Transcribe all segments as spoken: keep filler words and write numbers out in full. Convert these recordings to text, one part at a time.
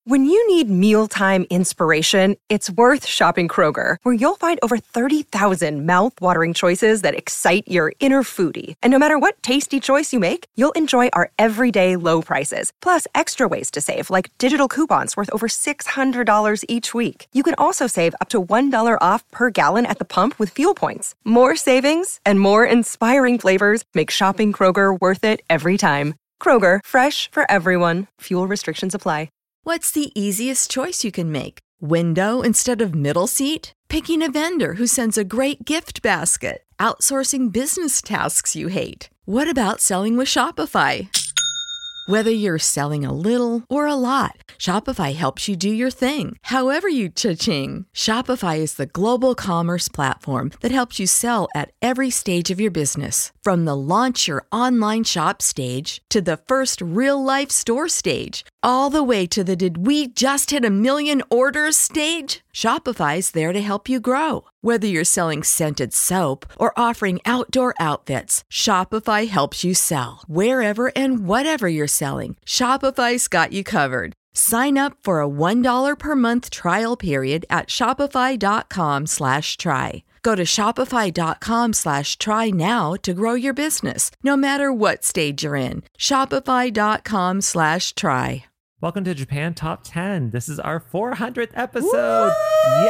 When you need mealtime inspiration, it's worth shopping Kroger, where you'll find over thirty thousand mouth-watering choices that excite your inner foodie. And no matter what tasty choice you make, you'll enjoy our everyday low prices, plus extra ways to save, like digital coupons worth over six hundred dollars each week. You can also save up to one dollar off per gallon at the pump with fuel points. More savings and more inspiring flavors make shopping Kroger worth it every time. Kroger, fresh for everyone. Fuel restrictions apply. What's the easiest choice you can make? Window instead of middle seat? Picking a vendor who sends a great gift basket? Outsourcing business tasks you hate? What about selling with Shopify? Whether you're selling a little or a lot, Shopify helps you do your thing, however you cha-ching. Shopify is the global commerce platform that helps you sell at every stage of your business. From the launch your online shop stage to the first real-life store stage, all the way to the did we just hit a million orders stage. Shopify's there to help you grow. Whether you're selling scented soap or offering outdoor outfits, Shopify helps you sell. Wherever and whatever you're selling, Shopify's got you covered. Sign up for a one dollar per month trial period at shopify.com slash try. Go to shopify.com slash try now to grow your business, no matter what stage you're in. Shopify.com slash try. Welcome to Japan Top ten. This is our four hundredth episode. Woo!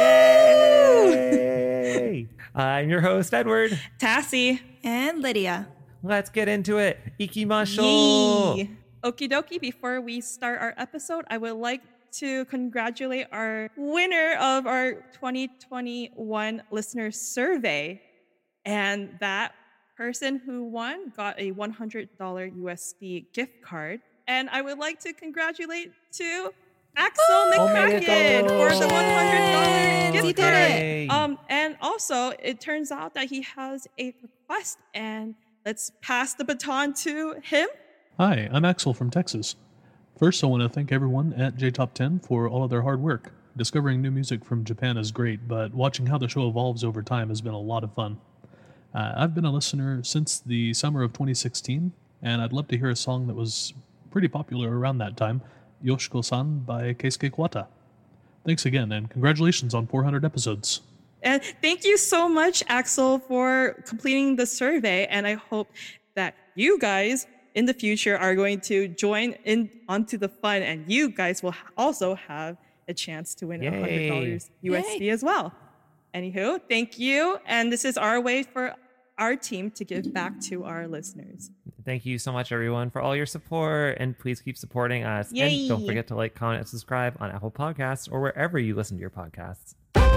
Yay! I'm your host, Edward. Tassie. And Lydia. Let's get into it. Ikimashou. Yee. Okie dokie. Before we start our episode, I would like to congratulate our winner of our twenty twenty-one listener survey. And that person who won got a one hundred dollars U S D gift card. And I would like to congratulate to Axel McCracken for the one hundred dollars gift he card. did it. Um, and also, it turns out that he has a request, and let's pass the baton to him. Hi, I'm Axel from Texas. First, I want to thank everyone at J Top ten for all of their hard work. Discovering new music from Japan is great, but watching how the show evolves over time has been a lot of fun. Uh, I've been a listener since the summer of twenty sixteen, and I'd love to hear a song that was pretty popular around that time, Yoshiko-san by Keisuke Kuwata. Thanks again, and congratulations on four hundred episodes. And thank you so much, Axel, for completing the survey. And I hope that you guys in the future are going to join in onto the fun, and you guys will also have a chance to win Yay. one hundred dollars U S D Yay. As well. Anywho, thank you. And this is our way for our team to give back to our listeners. Thank you so much, everyone, for all your support, and please keep supporting us. Yay. And don't forget to like, comment, and subscribe on Apple Podcasts or wherever you listen to your podcasts.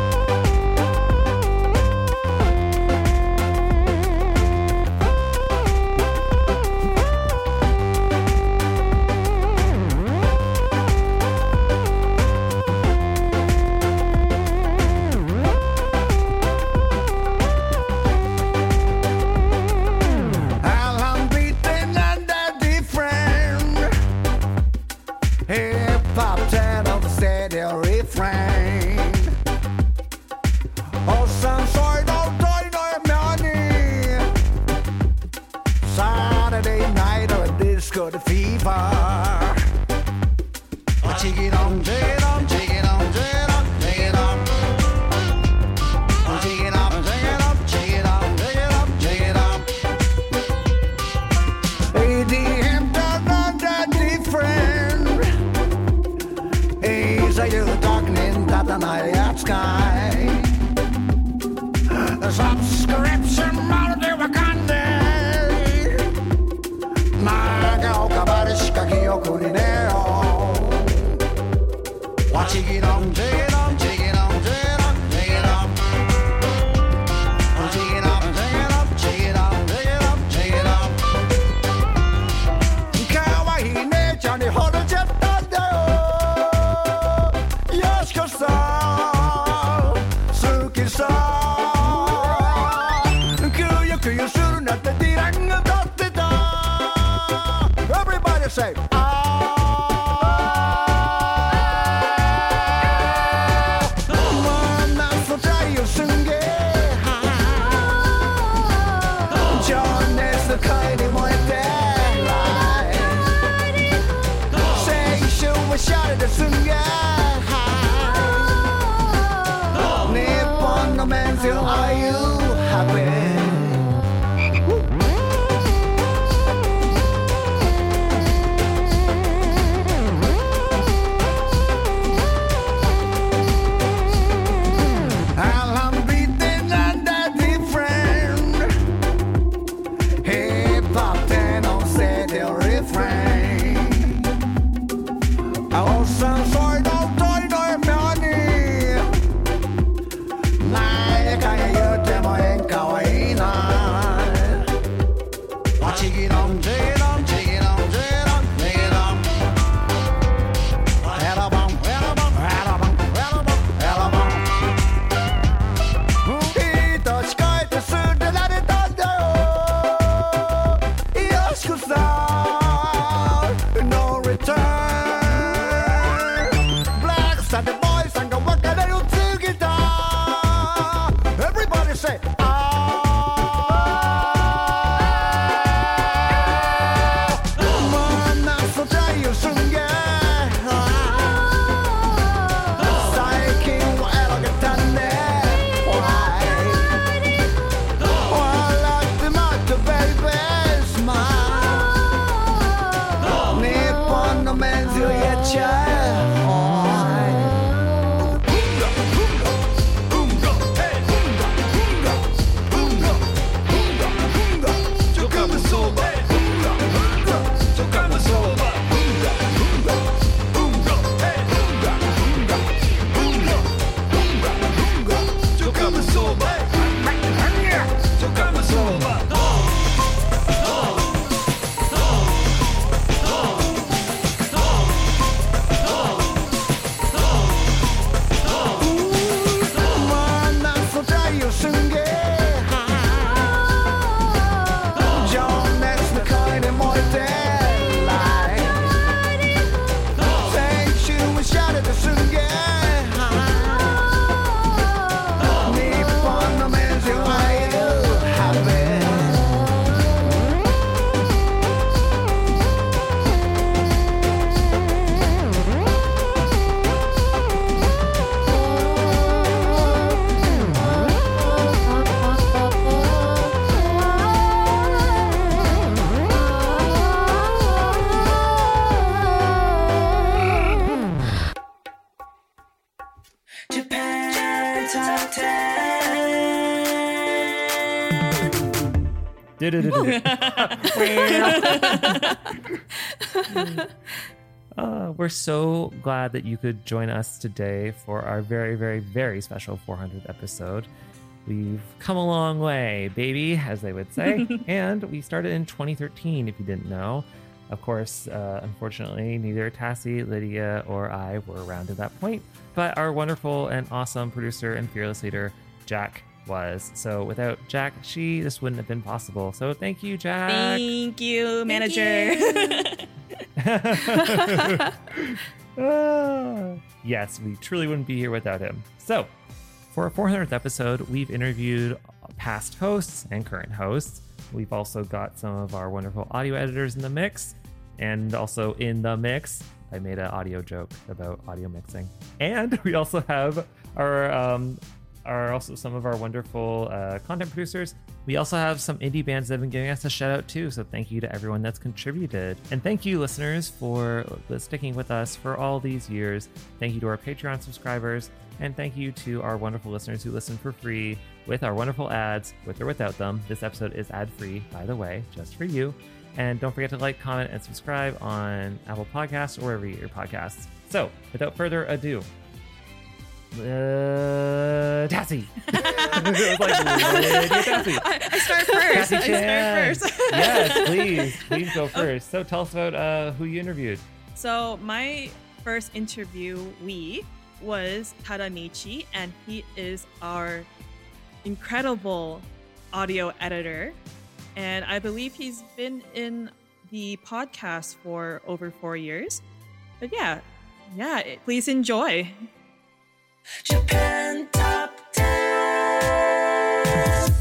Got a fever. Oh, take it on, take it on, take it on, take it on, take it on. Oh, take it on, take it on, take it on, take it on, take it on. A D M not that different. Is a you darkening that the night sky. Subscription model of Wakanda. しか記憶にねよ Watch it on, take it on, take it on, take it on, take it on. Take it on, take it on, take it on, take it on, take it on. かわいい姉ちゃんに惚れちゃったんだよよしこさん好きさくよくよするなってディランが歌ってた Everybody say, ah. 옷은 솔도 돌돌 편히 나의 가야 여태 뭐엔 가와이 날 지기놈 지기놈 지기놈 지기놈 지기놈 에라방 에라방 에라방 에라방 에라방 우리 시카이 때 쓸 때 나를 던져요 이어스쿠사 no return Black Sunday boys 안 가와가 날 움직이다 Everybody say 만나서 자유순게 사이킹과 에러게 탔네 Why While the matter baby smile 니폰 너 맨즈의 차 만나서 자유순게 Don't mess the kind of more than life 생추에 샤르드 순게 니폰 너 맨즈 why you have it Japan Top Du-du-du-du. Uh, we're so glad that you could join us today for our very, very, very special four hundredth episode. We've come a long way, baby, as they would say. And we started in twenty thirteen, if you didn't know. Of course, uh, unfortunately, neither Tassie, Lydia, or I were around at that point. But our wonderful and awesome producer and fearless leader, Jack, was. So without Jack, she, this wouldn't have been possible. So thank you, Jack. Thank you, manager. Ah, yes, we truly wouldn't be here without him. So, for our four hundredth episode, we've interviewed past hosts and current hosts. We've also got some of our wonderful audio editors in the mix. And also in the mix, I made an audio joke about audio mixing. And we also have our um, are also some of our wonderful uh, content producers. We also have some indie bands that have been giving us a shout out too. So thank you to everyone that's contributed. And thank you, listeners, for sticking with us for all these years. Thank you to our Patreon subscribers. And thank you to our wonderful listeners who listen for free with our wonderful ads, with or without them. This episode is ad-free, by the way, just for you. And don't forget to like, comment, and subscribe on Apple Podcasts or wherever you get your podcasts. So without further ado, Uh, Tassie. It was like Lydia Tassie. I, I start first. Tassie I Chan. start first. Yes, please. Please go first. So tell us about uh, who you interviewed. So my first interviewee was Tadamichi, and he is our incredible audio editor. And I believe he's been in the podcast for over four years. But yeah, yeah, it- please enjoy. Japan Top ten.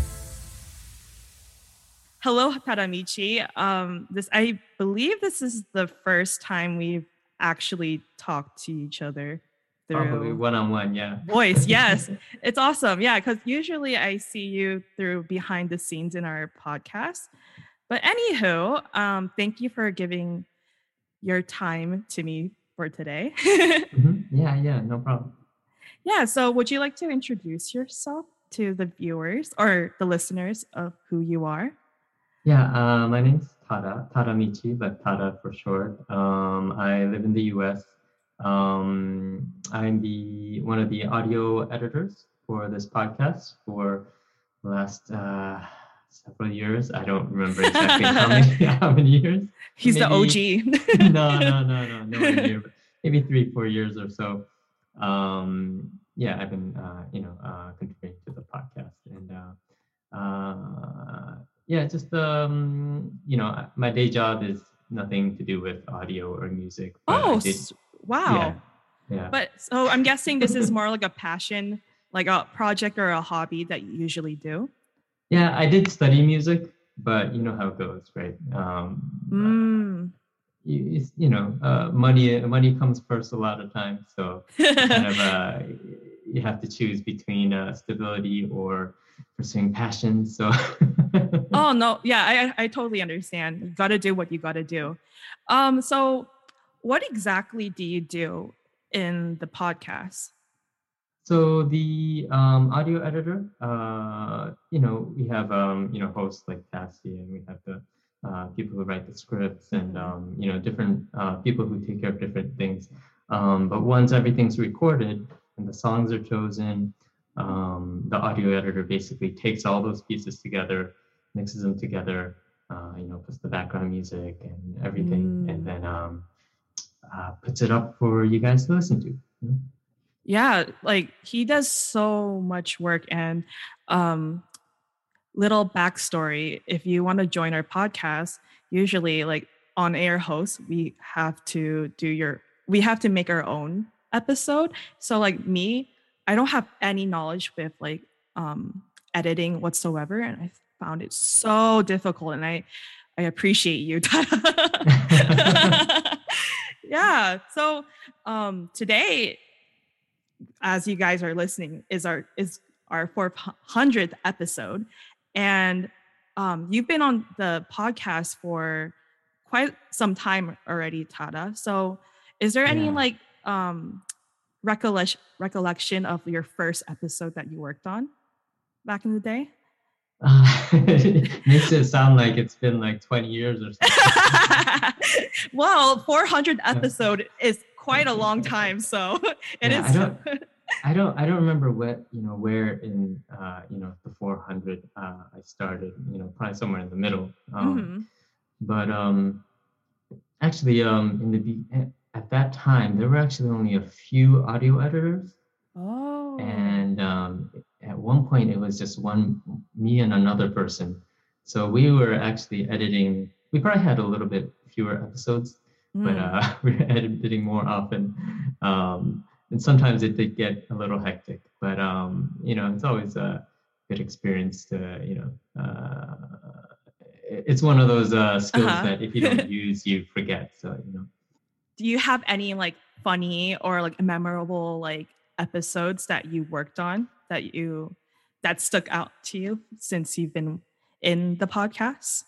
Hello, Tadamichi. Um, this I believe this is the first time we've actually talked to each other through Probably one-on-one, yeah. voice. Yes, it's awesome. Yeah, because usually I see you through behind the scenes in our podcast. But anywho, um, thank you for giving your time to me for today. Mhm. Yeah, yeah, no problem. Yeah, so would you like to introduce yourself to the viewers or the listeners of who you are? Yeah, uh, my name's Tada, Tadamichi, but Tada for short. Um, I live in the U S. Um, I'm the one of the audio editors for this podcast for the last uh, several years. I don't remember exactly how many how many years. He's Maybe, the O G. no, no, no, no, nowhere near. But maybe three, four years or so. Um, yeah, I've been, uh, you know, uh, contributing to the podcast, and uh, uh, yeah, just um, you know, my day job is nothing to do with audio or music. but Oh, I did- s- wow. yeah, yeah. But so I'm guessing this is more like a passion, like a project or a hobby that you usually do. Yeah, I did study music, but you know how it goes, right? Um, Mm. you, it's, you know, uh, money money comes first a lot of times, so kind of uh, you have to choose between uh, stability or pursuing passion. So Oh no, yeah, I I totally understand. You got to do what you got to do. Um, so what exactly do you do in the podcast? So the um, audio editor, uh, you know, we have um, you know hosts like Cassie, and we have the uh, people who write the scripts, and um, you know different uh, people who take care of different things. Um, but once everything's recorded and the songs are chosen, um, the audio editor basically takes all those pieces together, mixes them together, uh, you know, puts the background music and everything, and Mm. then um, uh, puts it up for you guys to listen to. You know? Yeah, like he does so much work. And um little backstory, if you want to join our podcast, usually like on air hosts, we have to do your we have to make our own episode. So like me, I don't have any knowledge with like um editing whatsoever, and I found it so difficult, and I I appreciate you. Yeah. So um today, as you guys are listening, is our is our four hundredth episode, and um, you've been on the podcast for quite some time already, Tada. So, is there any Yeah. like um, recollection recollection of your first episode that you worked on back in the day? Uh, it makes it sound like it's been like twenty years or something. Well, four hundred episode is quite a long time, so it Yeah, is. I don't, I don't, I don't remember what you know where in uh, you know the four hundred uh, I started. You know, probably somewhere in the middle. Um, Mhm. But um, actually, um, in the be- at that time, there were actually only a few audio editors, Oh. and um, at one point it was just one me and another person. So we were actually editing. We probably had a little bit fewer episodes, but Mm. uh, we were editing more often. Um, and sometimes it did get a little hectic, but um, you know, it's always a good experience to, you know, uh, it's one of those uh, skills Uh-huh. that if you don't use, you forget. So, you know. Do you have any like funny or like memorable like episodes that you worked on that you that stuck out to you since you've been in the podcast?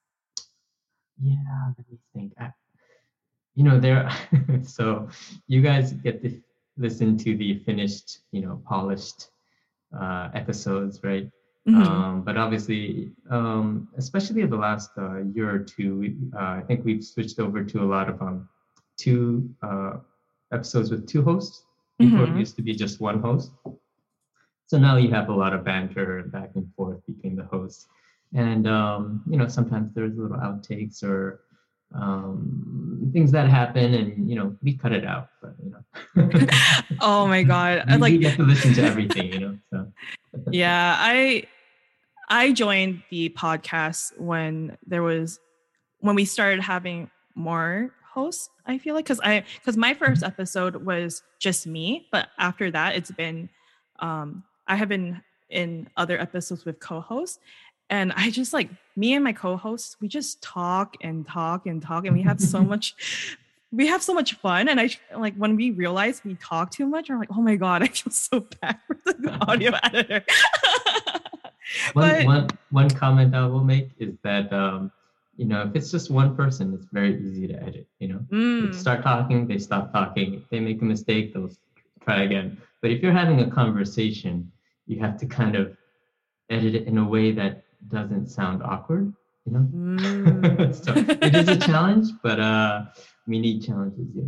Yeah, let me think. I, you know, there. So you guys get to listen to the finished, you know, polished uh, episodes, right? Mhm. Um, but obviously, um, especially the last uh, year or two, we, uh, I think we've switched over to a lot of um, two uh, episodes with two hosts. Before Mhm. it used to be just one host. So now you have a lot of banter back and forth between the hosts. And, um, you know, sometimes there's little outtakes or um, things that happen, and, you know, we cut it out. But, you know. Oh my God. you, Like- you get to listen to everything, you know. So. Yeah, I I joined the podcast when there was when we started having more hosts, I feel like, because I because my first episode was just me, but after that it's been um I have been in other episodes with co-hosts, and I just like me and my co-hosts, we just talk and talk and talk, and we have so much we have so much fun. And I like when we realize we talk too much, I'm like, oh my God, I feel so bad for the audio editor. One, But- one, one comment I will make is that, um, you know, if it's just one person, it's very easy to edit, you know. They Mm. start talking, they stop talking. If they make a mistake, they'll try again. But if you're having a conversation, you have to kind of edit it in a way that doesn't sound awkward, you know. Mm. So it is a challenge, but uh, we need challenges, yeah.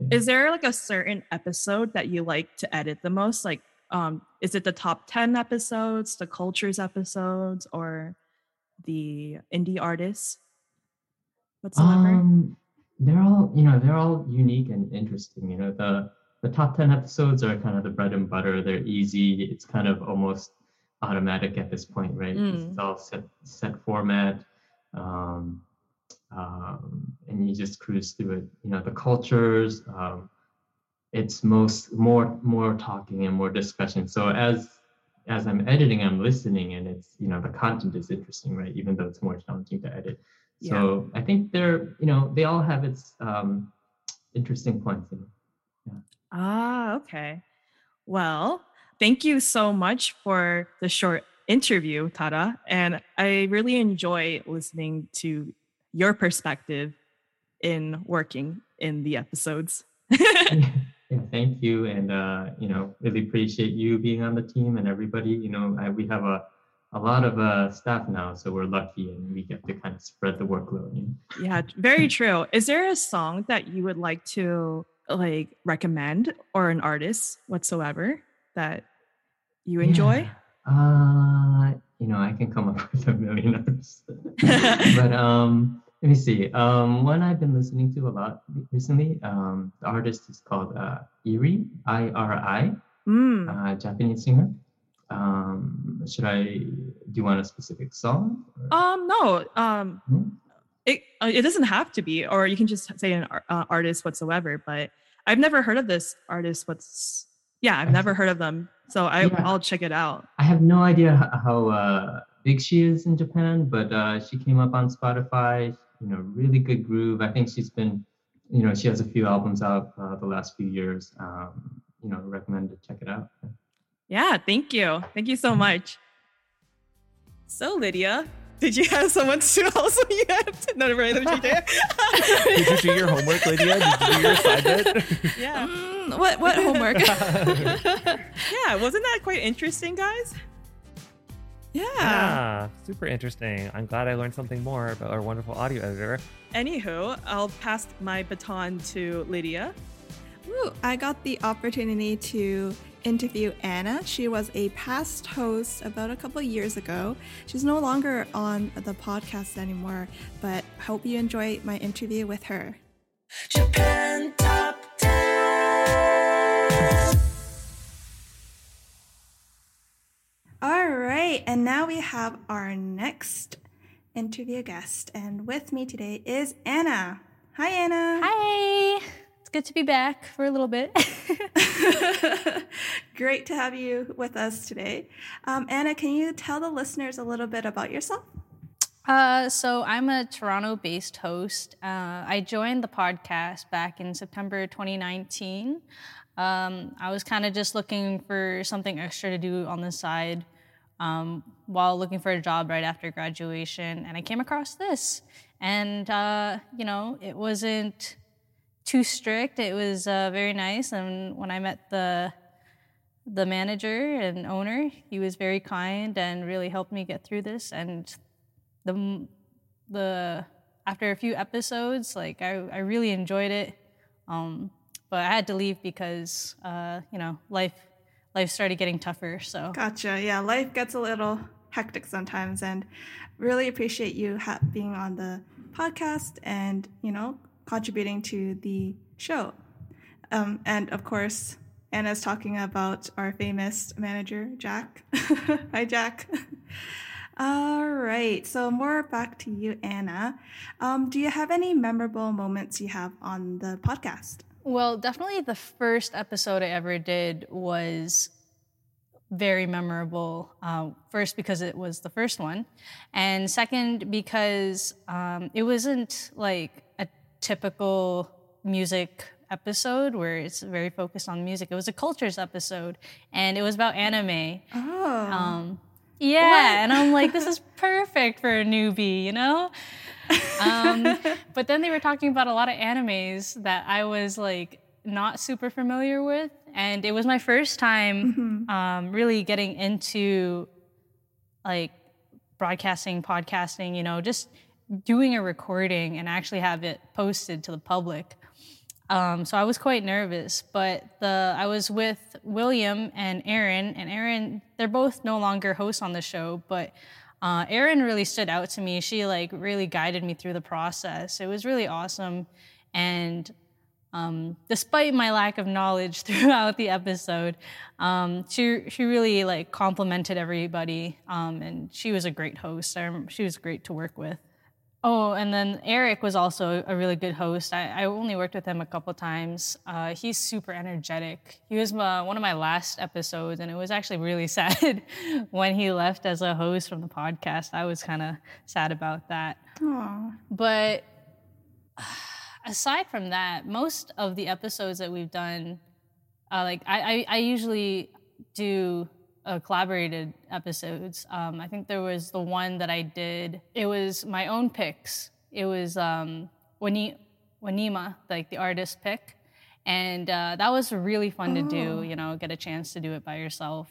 Is there like a certain episode that you like to edit the most? Like, um, is it the top ten episodes, the cultures episodes, or the indie artists whatsoever? Um, they're all, you know, they're all unique and interesting. You know, the the top ten episodes are kind of the bread and butter. They're easy. It's kind of almost automatic at this point, right? 'Cause Mm. It's all set set format. Um, um, and you just cruise through it. You know, the cultures, um, it's most more more talking and more discussion. So as as I'm editing, I'm listening, and it's, you know, the content is interesting, right? Even though it's more challenging to edit. So I think they're, you know, they all have its um, interesting points. You know? Ah, okay. Well, thank you so much for the short interview, Tara. And I really enjoy listening to your perspective in working in the episodes. Yeah, thank you, and uh, you know, really appreciate you being on the team and everybody. You know, I, we have a a lot of uh, staff now, so we're lucky, and we get to kind of spread the workload. You know? Yeah, very true. Is there a song that you would like to like recommend, or an artist whatsoever that you enjoy? Yeah. Uh, you know, I can come up with a million artists, but um, let me see. Um, one I've been listening to a lot recently. Um, the artist is called uh, Iri, I R I, Mm. uh, Japanese singer. Um, should I? Do you want a specific song? or- Um, no. Um, Hmm? it uh, it doesn't have to be, or you can just say an ar- uh, artist whatsoever. But I've never heard of this artist. What's yeah, I've never heard of them, so I Yeah. I'll check it out. I have no idea h- how uh, big she is in Japan, but uh, she came up on Spotify. You know, really good groove. I think she's been, you know, she has a few albums out uh, the last few years. Um, you know, recommend to check it out. Yeah, thank you, thank you so much. So Lydia, did you have someone to also you have to no, right, let me check it. Did you do your homework, Lydia? Did you do your assignment? Yeah, Mm, what what homework? yeah, wasn't that quite interesting, guys? yeah. Yeah, super interesting. I'm glad I learned something more about our wonderful audio editor. Anywho, I'll pass my baton to Lydia. Woo, I got the opportunity to interview Anna. She was a past host about a couple years ago. She's no longer on the podcast anymore, but hope you enjoy my interview with her. Japan Top ten. All right, and now we have our next interview guest, and with me today is Anna. Hi, Anna. Hi. It's good to be back for a little bit. Great to have you with us today. Um, Anna, can you tell the listeners a little bit about yourself? Uh, so I'm a Toronto-based host. Uh, I joined the podcast back in September twenty nineteen. Um, I was kind of just looking for something extra to do on the side um, while looking for a job right after graduation, and I came across this. And, uh, you know, it wasn't too strict. It was uh, very nice. And when I met the the manager and owner, he was very kind and really helped me get through this. And the the after a few episodes, like I, I really enjoyed it. Um, but I had to leave because uh, you know, life life started getting tougher. So Gotcha. Yeah, life gets a little hectic sometimes, and really appreciate you ha- being on the podcast and, you know, contributing to the show. Um, and of course, Anna's talking about our famous manager, Jack. Hi, Jack. All right, so more back to you, Anna. Um, do you have any memorable moments you have on the podcast? Well, definitely the first episode I ever did was very memorable. Uh, first, because it was the first one, and second, because um, it wasn't like a typical music episode where it's very focused on music. It was a cultures episode, and it was about anime. Oh, Um, yeah, and I'm like, this is perfect for a newbie, you know? Um, but then they were talking about a lot of animes that I was like not super familiar with, and it was my first time um, really getting into like broadcasting, podcasting, you know, just doing a recording and actually have it posted to the public. Um, so I was quite nervous, but the I was with William and Aaron, and Aaron, they're both no longer hosts on the show, but uh, Aaron really stood out to me. She like really guided me through the process. It was really awesome, and um, despite my lack of knowledge throughout the episode, um, she she really like complimented everybody, um, and she was a great host. I remember she was great to work with. Oh, and then Eric was also a really good host. I, I only worked with him a couple times. Uh, he's super energetic. He was my, one of my last episodes, and it was actually really sad when he left as a host from the podcast. I was kind of sad about that. Aww. But aside from that, most of the episodes that we've done, uh, like I, I, I usually do Uh, collaborated episodes. Um, I think there was the one that I did. It was my own picks. It was um, Wani- Wanima, like the artist pick, and uh, that was really fun to do. You know, get a chance to do it by yourself.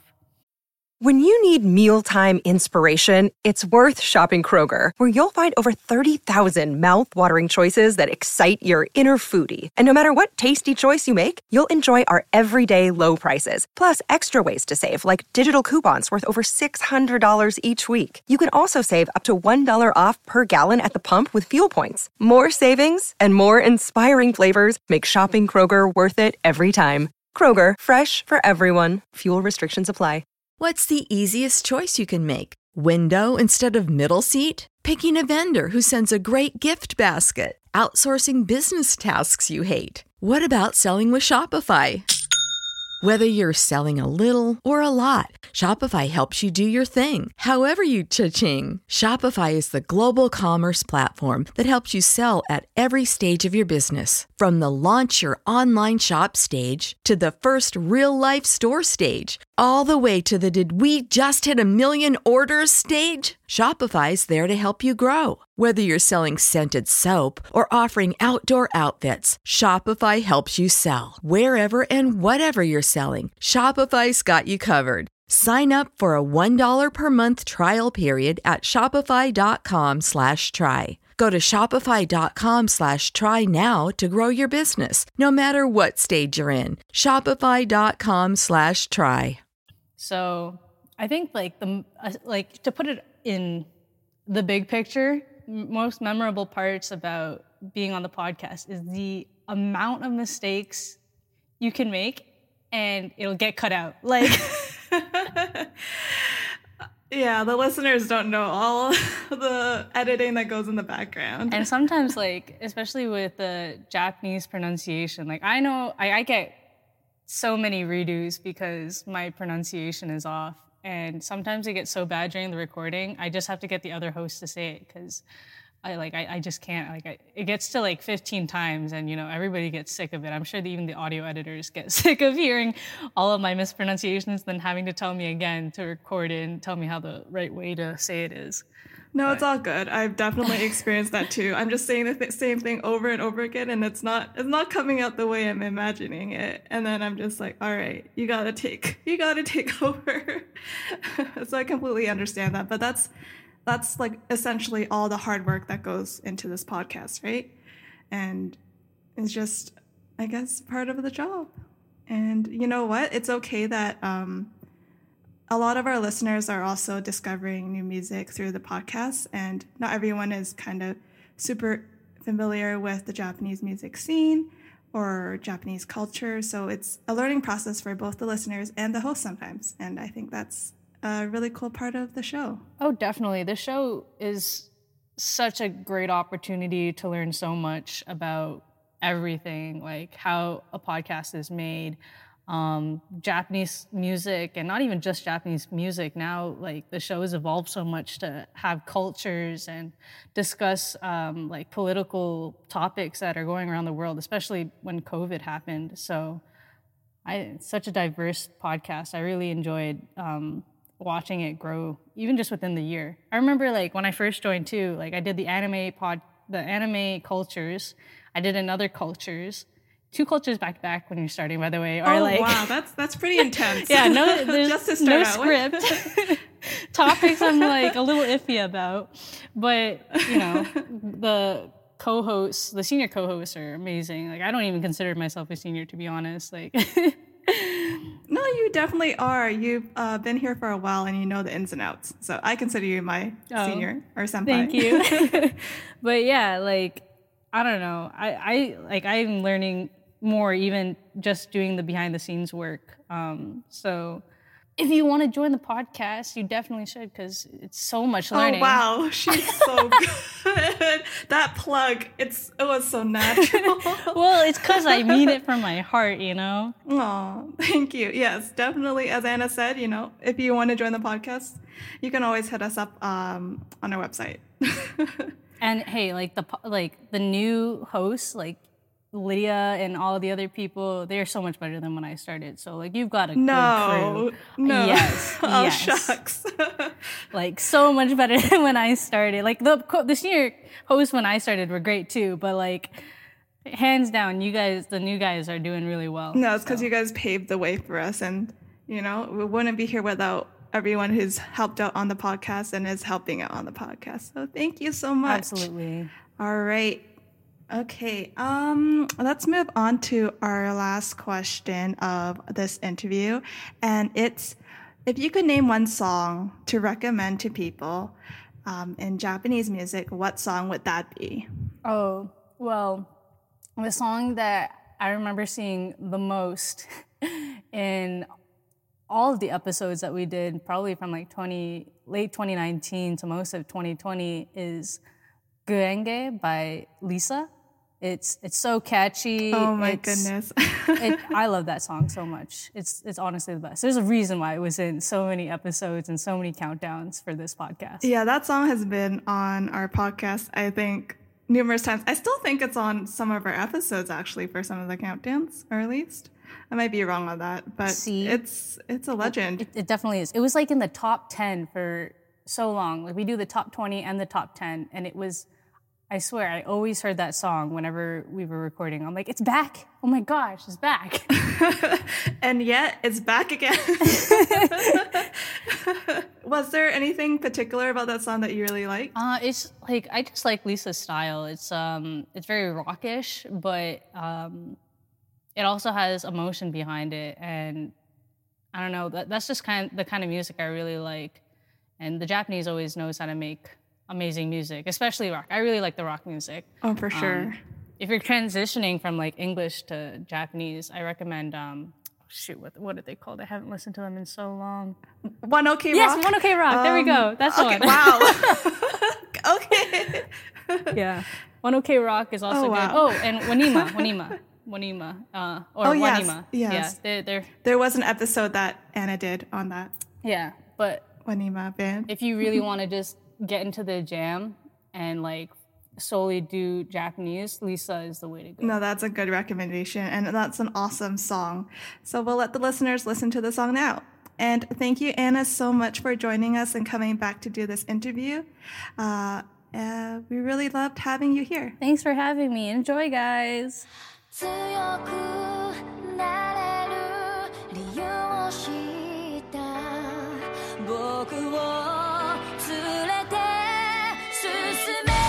When you need mealtime inspiration, it's worth shopping Kroger, where you'll find over thirty thousand mouth-watering choices that excite your inner foodie. And no matter what tasty choice you make, you'll enjoy our everyday low prices, plus extra ways to save, like digital coupons worth over six hundred dollars each week. You can also save up to one dollar off per gallon at the pump with fuel points. More savings and more inspiring flavors make shopping Kroger worth it every time. Kroger, fresh for everyone. Fuel restrictions apply. What's the easiest choice you can make? Window instead of middle seat? Picking a vendor who sends a great gift basket? Outsourcing business tasks you hate? What about selling with Shopify? Whether you're selling a little or a lot, Shopify helps you do your thing, however you cha-ching. Shopify is the global commerce platform that helps you sell at every stage of your business. From the launch your online shop stage to the first real-life store stage, all the way to the did we just hit a million orders stage? Shopify's there to help you grow. Whether you're selling scented soap or offering outdoor outfits, Shopify helps you sell. Wherever and whatever you're selling, Shopify's got you covered. Sign up for a one dollar per month trial period at shopify.com slash try. Go to shopify.com slash try now to grow your business, no matter what stage you're in. Shopify.com slash try. So I think like the uh, like to put it in the big picture, m- most memorable parts about being on the podcast is the amount of mistakes you can make and it'll get cut out. Like, yeah, the listeners don't know all the editing that goes in the background. And sometimes, like, especially with the Japanese pronunciation, like I know I, I get so many redos because my pronunciation is off. And sometimes it gets so bad during the recording, I just have to get the other host to say it because I like I, I just can't. Like I, it gets to like fifteen times, and you know everybody gets sick of it. I'm sure that even the audio editors get sick of hearing all of my mispronunciations, then having to tell me again to record it and tell me how the right way to say it is. No, But- it's all good. I've definitely experienced that too. I'm just saying the th- same thing over and over again, and it's not it's not coming out the way I'm imagining it. And then I'm just like, all right, you gotta take you gotta take over. So I completely understand that. But that's that's like essentially all the hard work that goes into this podcast, right? And it's just, I guess, part of the job. And you know what? It's okay that um, a lot of our listeners are also discovering new music through the podcast, and not everyone is kind of super familiar with the Japanese music scene or Japanese culture. So it's a learning process for both the listeners and the host sometimes. And I think that's a really cool part of the show. Oh, definitely. The show is such a great opportunity to learn so much about everything, like how a podcast is made, um, Japanese music, and not even just Japanese music. Now, like, the show has evolved so much to have cultures and discuss um, like political topics that are going around the world, especially when COVID happened. So I, it's such a diverse podcast. I really enjoyed um, watching it grow, even just within the year. I remember, like, when I first joined too, like, I did the anime pod, the anime cultures. I did another cultures, two cultures back to back when you're starting, by the way. Or oh, like, wow, that's that's pretty intense. yeah, no, there's Just to start no out with. script. Topics I'm like a little iffy about, but you know, the co-hosts, the senior co-hosts are amazing. Like, I don't even consider myself a senior, to be honest. Like, No, you definitely are. You've uh, been here for a while and you know the ins and outs. So I consider you my Oh, senior or senpai. thank you. But yeah, like, I don't know. I, I like I'm learning more even just doing the behind the scenes work. Um, so if you want to join the podcast, you definitely should, because it's so much learning. Oh wow, she's so good. That plug, it's it was so natural. Well, it's because I mean it from my heart, you know? Oh, thank you. Yes, definitely. As Anna said, you know, if you want to join the podcast, you can always hit us up um, on our website. And hey, like the po- like the new hosts, like Lydia and all the other people, they're so much better than when I started. So like you've got a No, good crew. no. Yes, Oh, yes. shucks. Like so much better than when I started. Like the co- the senior hosts when I started were great too, but like hands down, you guys, the new guys are doing really well. No, it's because so. you guys paved the way for us, and you know we wouldn't be here without everyone who's helped out on the podcast and is helping out on the podcast. So thank you so much. Absolutely. All right. Okay. Um, let's move on to our last question of this interview, and it's if you could name one song to recommend to people um, in Japanese music, what song would that be? Oh, well, the song that I remember seeing the most in all of the episodes that we did, probably from like twenty late twenty nineteen to most of twenty twenty, is Guenge by Lisa. It's it's so catchy. Oh my It's- goodness. it, I love that song so much. It's it's honestly the best. There's a reason why it was in so many episodes and so many countdowns for this podcast. Yeah, that song has been on our podcast, I think, numerous times. I still think it's on some of our episodes, actually, for some of the countdowns, or at least. I might be wrong on that, but See? it's it's a legend. It, it definitely is. It was like in the top ten for so long. Like we do the top twenty and the top ten, and it was, I swear, I always heard that song whenever we were recording. I'm like, it's back. Oh my gosh, it's back. And yet, it's back again. Was there anything particular about that song that you really liked? Uh, it's like, I just like Lisa's style. It's um, it's very rockish, but um, it also has emotion behind it, and I don't know. That, that's just kind of the kind of music I really like. And the Japanese always knows how to make amazing music, especially rock. I really like the rock music. Oh, for Um, sure. if you're transitioning from like English to Japanese, I recommend. Um, shoot, what what are they called? I haven't listened to them in so long. One OK Yes, Rock? One OK Rock. There we go. That's the okay, one. Wow. Okay. Yeah, One OK Rock is also Oh, wow. good. Oh, and Wanima, Wanima, Wanima, uh, or Oh, yes, Wanima. yes. Yeah, they're, they're There was an episode that Anna did on that yeah. But Wanima band. if you really want to just get into the jam and like solely do Japanese, Lisa is the way to go. No, that's a good recommendation, and that's an awesome song. So we'll let the listeners listen to the song now. And thank you, Anna, so much for joining us and coming back to do this interview. Uh, uh, we really loved having you here. Thanks for having me. Enjoy, guys. 強くなれる理由を知った僕を連れて進め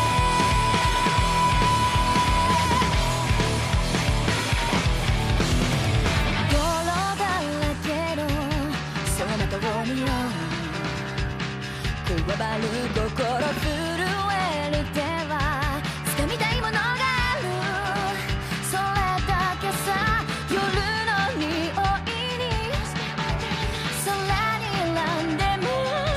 泥だらけのその中を見よう加わる心震える手は掴みたいものがあるそれだけさ夜の匂いに空に選んでも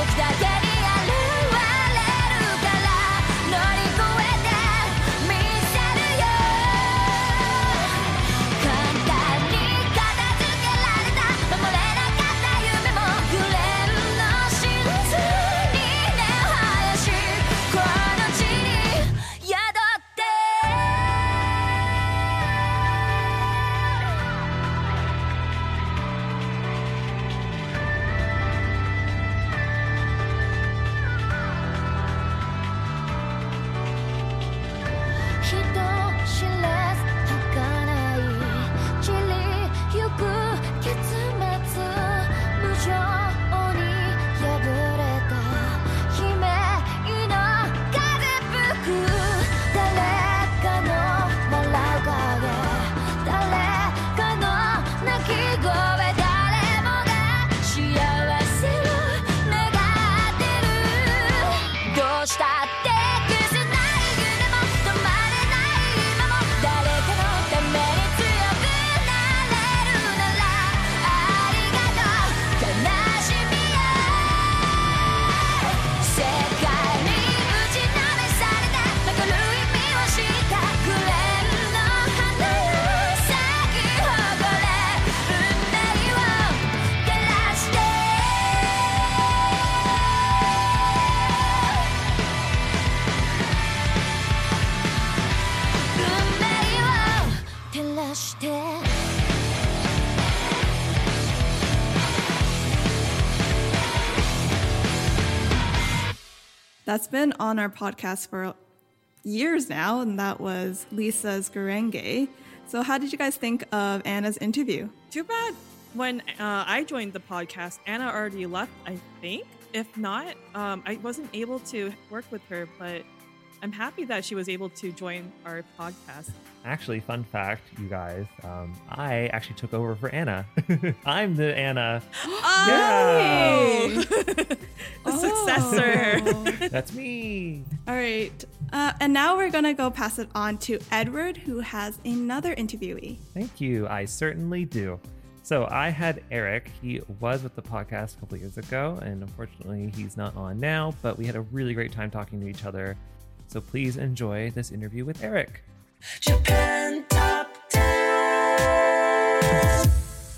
時だけに現れるから乗り越えてみせるよ簡単に片付けられた守れなかった夢もグレンの真実に根を生やしこの地に宿って人知れず儚い散りゆく結末無情に破れた悲鳴の風吹く誰かの笑う影誰かの泣き声誰もが幸せを願ってるどうしたって消せない夢も止まれない今も誰かのために強くなれるならありがとう悲しみや世界に打ちのめされて残る意味を知ったグレンの花よ咲き誇れ運命を照らして運命を照らして That's been on our podcast for years now, and that was Lisa's Gurenge. So, how did you guys think of Anna's interview? Too bad when uh, I joined the podcast, Anna already left, I think. If not, um, I wasn't able to work with her, but I'm happy that she was able to join our podcast. Actually, fun fact, you guys, um, I actually took over for Anna. I'm the Anna. Oh! Yeah. The successor. That's me. All right. Uh, and now we're going to go pass it on to Edward, who has another interviewee. Thank you. I certainly do. So I had Eric. He was with the podcast a couple years ago, and unfortunately he's not on now, but we had a really great time talking to each other. So please enjoy this interview with Eric. Japan Top ten.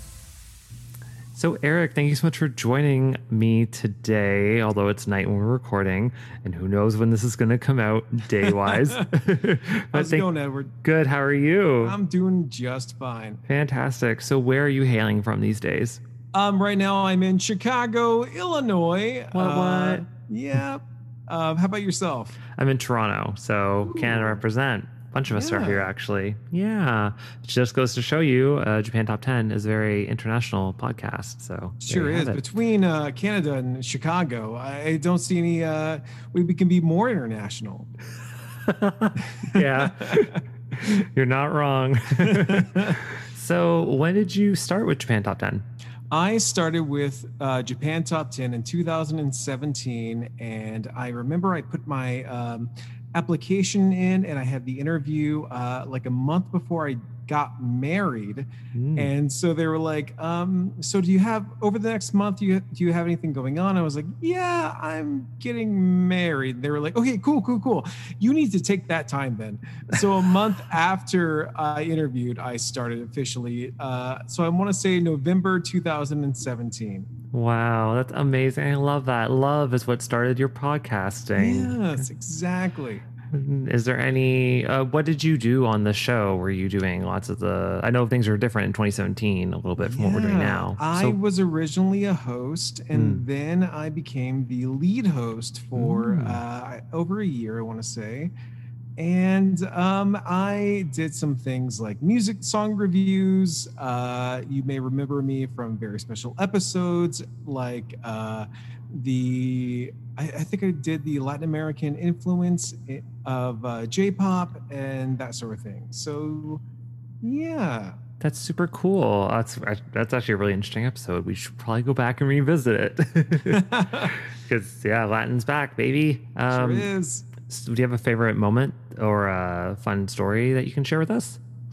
So Eric, thank you so much for joining me today, although it's night when we're recording, and who knows when this is going to come out day-wise. How's it going, Edward? Good. How are you? I'm doing just fine. Fantastic. So where are you hailing from these days? Um, right now I'm in Chicago, Illinois. What, uh, what? Yeah. Uh, how about yourself? I'm in Toronto, so Ooh. Canada represent. A bunch of us yeah. are here, actually. Yeah. It just goes to show you, uh, Japan Top ten is a very international podcast. So sure is. Between uh, Canada and Chicago, I don't see any uh, way we can be more international. Yeah. You're not wrong. So when did you start with Japan Top ten? I started with uh, Japan Top ten in two thousand seventeen, and I remember I put my um, application in, and I had the interview uh, like a month before I got married. Mm. And so they were like, um, so do you have, over the next month, do you, do you have anything going on? I was like, yeah, I'm getting married. They were like, okay, cool, cool, cool. You need to take that time then. So a month after I interviewed, I started officially. Uh, so I want to say November two thousand seventeen. Wow, that's amazing. I love that. Love is what started your podcasting. Yes, exactly. Is there any, uh, what did you do on the show? Were you doing lots of the, I know things are different in twenty seventeen, a little bit from yeah, what we're doing now. I so, was originally a host, and mm. then I became the lead host for mm. uh, over a year, I want to say. And um, I did some things like music song reviews. Uh, you may remember me from very special episodes, like uh, the, I, I think I did the Latin American influence of uh, J-pop and that sort of thing. So, yeah. That's super cool. That's that's actually a really interesting episode. We should probably go back and revisit it. Because, yeah, Latin's back, baby. Um, sure is. So do you have a favorite moment or a fun story that you can share with us?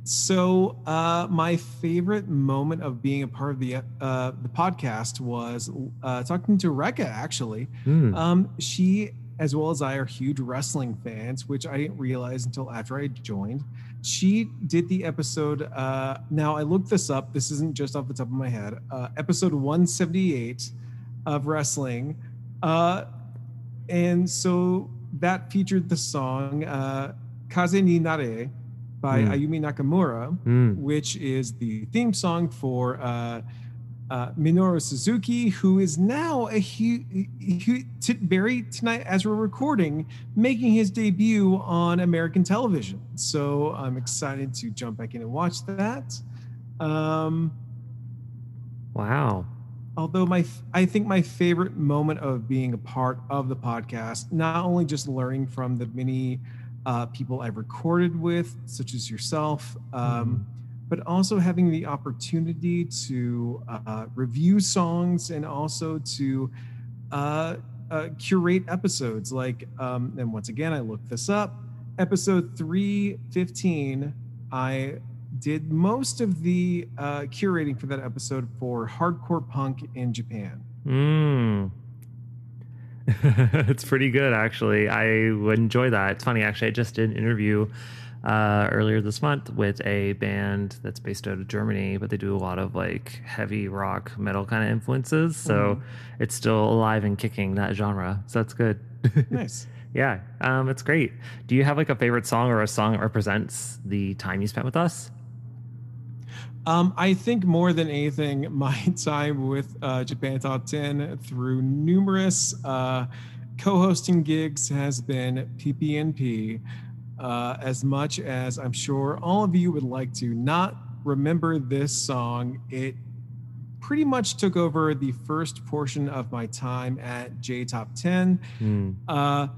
So uh, my favorite moment of being a part of the uh, the podcast was uh, talking to Rekka, actually. Mm. Um, she, as well as I, are huge wrestling fans, which I didn't realize until after I joined. She did the episode. Uh, now, I looked this up. This isn't just off the top of my head. Uh, episode one seventy-eight of wrestling. Uh, and so that featured the song uh, Kaze ni Nare by mm. Ayumi Nakamura, mm. which is the theme song for uh, uh, Minoru Suzuki, who is now a huge, t- very tonight as we're recording, making his debut on American television. So I'm excited to jump back in and watch that. Um, wow. Although my, I think my favorite moment of being a part of the podcast, not only just learning from the many Uh, people I've recorded with, such as yourself, um, mm. but also having the opportunity to uh, review songs and also to uh, uh, curate episodes. Like, um, and once again, I looked this up. Episode three fifteen, I did most of the uh, curating for that episode for hardcore punk in Japan. Mm. It's pretty good, actually. I would enjoy that. It's funny, actually. I just did an interview uh, earlier this month with a band that's based out of Germany, but they do a lot of like heavy rock metal kind of influences. So mm. it's still alive and kicking, that genre. So that's good. Nice. Yeah, um, it's great. Do you have like a favorite song or a song that represents the time you spent with us? Um, I think more than anything, my time with uh, Japan Top ten through numerous uh, co-hosting gigs has been P P N P. Uh, as much as I'm sure all of you would like to not remember this song, it pretty much took over the first portion of my time at J Top ten. Mm. Uh,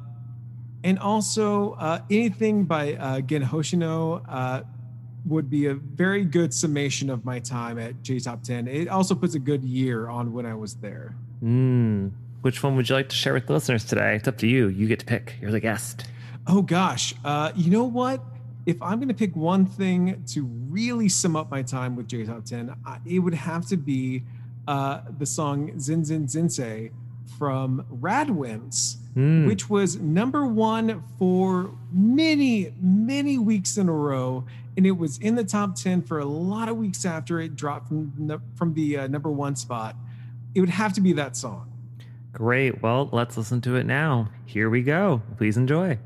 and also uh, anything by uh, Gen Hoshino uh, would be a very good summation of my time at J Top ten. It also puts a good year on when I was there. Mm. Which one would you like to share with the listeners today? It's up to you. You get to pick. You're the guest. Oh, gosh. Uh, you know what? If I'm going to pick one thing to really sum up my time with J Top ten, I, it would have to be uh, the song Zin Zin Zinsei from Radwimps, mm. which was number one for many, many weeks in a row. And it was in the top ten for a lot of weeks after it dropped from, from the uh, number one spot. It would have to be that song. Great. Well, let's listen to it now. Here we go. Please enjoy.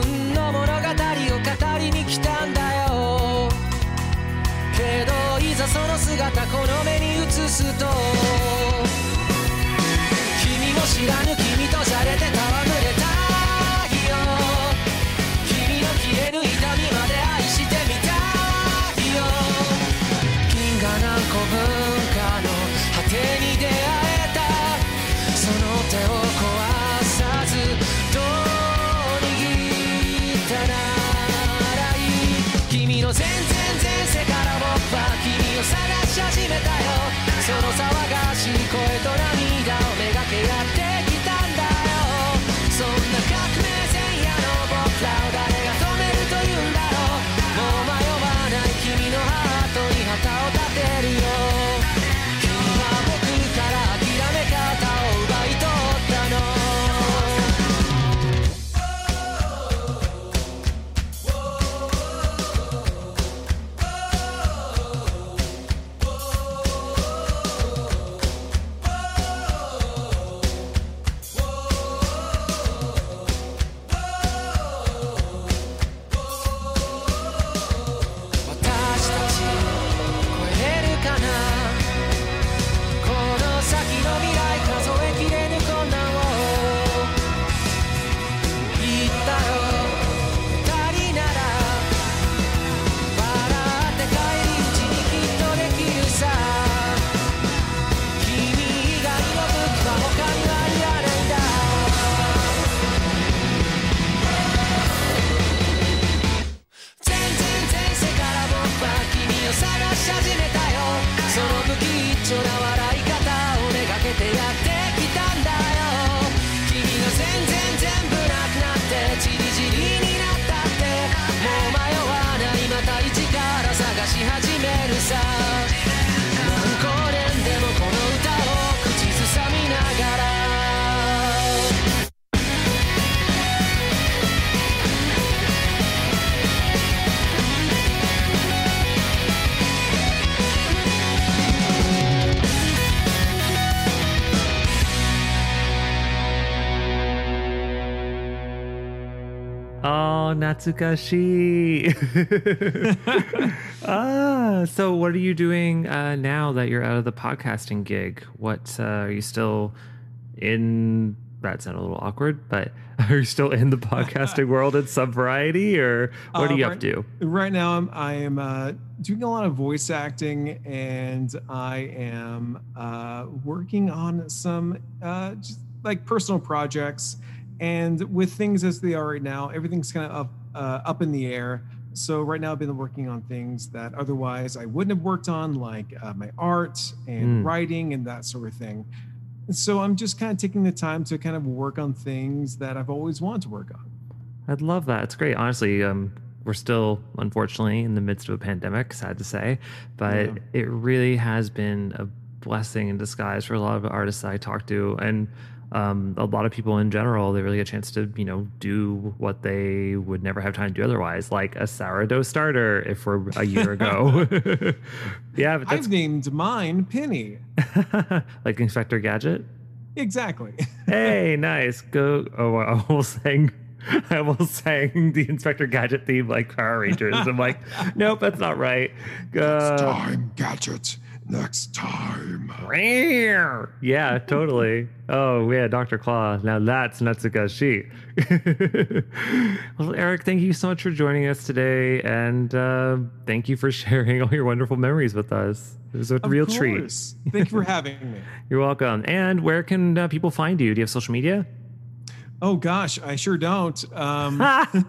そその手を壊さずどう握ったならいい君の全然前世から僕は君を探し始めたよその騒がしい声と涙をめがけやってきたんだよそんな革命前夜の僕らを誰が止めるというんだろうもう迷わない君のハートに旗を立てるよ君は僕から諦め方を奪い取ったの Natsukashi. ah, so what are you doing uh, now that you're out of the podcasting gig? What uh, are you still in? That sounded a little awkward, but are you still in the podcasting world in some variety, or what uh, are you right, up to? Right now, I'm I am uh, doing a lot of voice acting, and I am uh, working on some uh, just like personal projects. And with things as they are right now, everything's kind of up, uh, up in the air. So right now I've been working on things that otherwise I wouldn't have worked on, like uh, my art and Mm. writing and that sort of thing. And so I'm just kind of taking the time to kind of work on things that I've always wanted to work on. I'd love that. It's great. Honestly, um, we're still, unfortunately, in the midst of a pandemic, sad to say, but Yeah. it really has been a blessing in disguise for a lot of artists I talk to. And um, a lot of people in general, they really get a chance to, you know, do what they would never have time to do otherwise, like a sourdough starter if we're a year ago. yeah, but that's I've named mine Penny. like Inspector Gadget. Exactly. Hey, nice. Go. Oh, I almost sang. I almost sang the Inspector Gadget theme like Power Rangers. I'm like, nope, that's not right. Uh, Next time, Gadget. Next time. Yeah, totally. Oh, yeah, Doctor Claw. Now that's Natsukashi. Well, Eric, thank you so much for joining us today. And uh, thank you for sharing all your wonderful memories with us. It was a Of real course. treat. Thank you for having me. You're welcome. And where can uh, people find you? Do you have social media? Oh gosh, I sure don't. Um,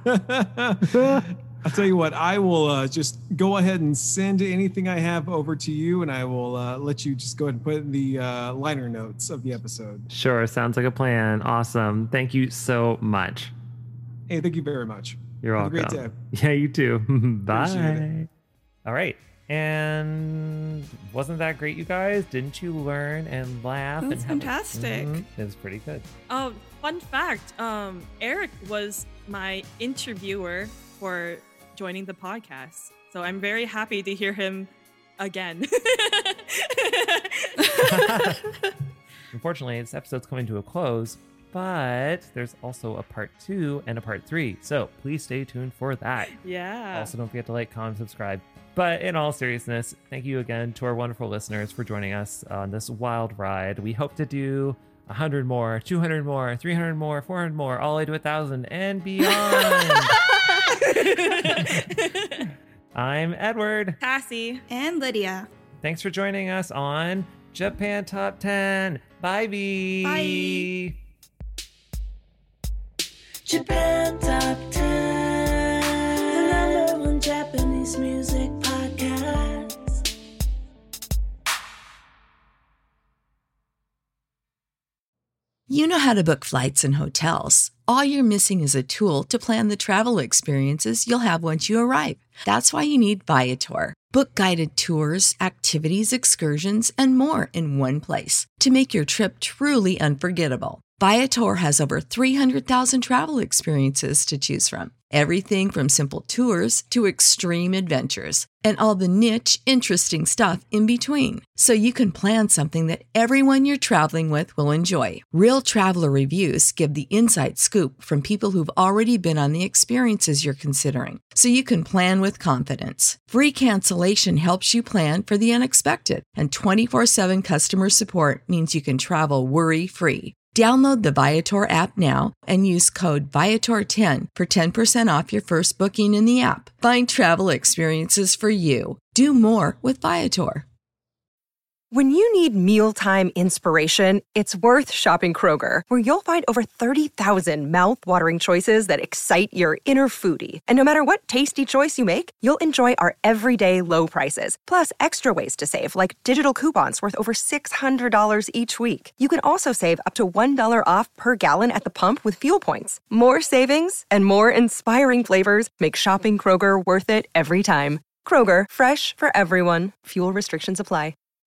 I'll tell you what, I will uh, just go ahead and send anything I have over to you, and I will uh, let you just go ahead and put in the uh, liner notes of the episode. Sure. Sounds like a plan. Awesome. Thank you so much. Hey, thank you very much. You're Have welcome. a great day. Yeah, you too. Appreciate Bye. it. All right. And wasn't that great, you guys? Didn't you learn and laugh? That and was have a- fantastic. Mhm. It was pretty good. Oh, fun fact. Um, Eric was my interviewer for joining the podcast. So I'm very happy to hear him again. Unfortunately, this episode's coming to a close, but there's also a part two and a part three. So please stay tuned for that. Yeah. Also, don't forget to like, comment, subscribe. But in all seriousness, thank you again to our wonderful listeners for joining us on this wild ride. We hope to do one hundred more, two hundred more, three hundred more, four hundred more, all the way to one thousand and beyond. I'm Edward. Cassie. And Lydia. Thanks for joining us on Japan Top ten. Bye, B. Bye. Japan Top ten, the number one Japanese music podcast. You know how to book flights and hotels. All you're missing is a tool to plan the travel experiences you'll have once you arrive. That's why you need Viator. Book guided tours, activities, excursions, and more in one place to make your trip truly unforgettable. Viator has over three hundred thousand travel experiences to choose from. Everything from simple tours to extreme adventures and all the niche, interesting stuff in between. So you can plan something that everyone you're traveling with will enjoy. Real traveler reviews give the inside scoop from people who've already been on the experiences you're considering. So you can plan with confidence. Free cancellation helps you plan for the unexpected. And twenty-four seven customer support means you can travel worry-free. Download the Viator app now and use code Viator ten for ten percent off your first booking in the app. Find travel experiences for you. Do more with Viator. When you need mealtime inspiration, it's worth shopping Kroger, where you'll find over thirty thousand mouth-watering choices that excite your inner foodie. And no matter what tasty choice you make, you'll enjoy our everyday low prices, plus extra ways to save, like digital coupons worth over six hundred dollars each week. You can also save up to one dollar off per gallon at the pump with fuel points. More savings and more inspiring flavors make shopping Kroger worth it every time. Kroger, fresh for everyone. Fuel restrictions apply.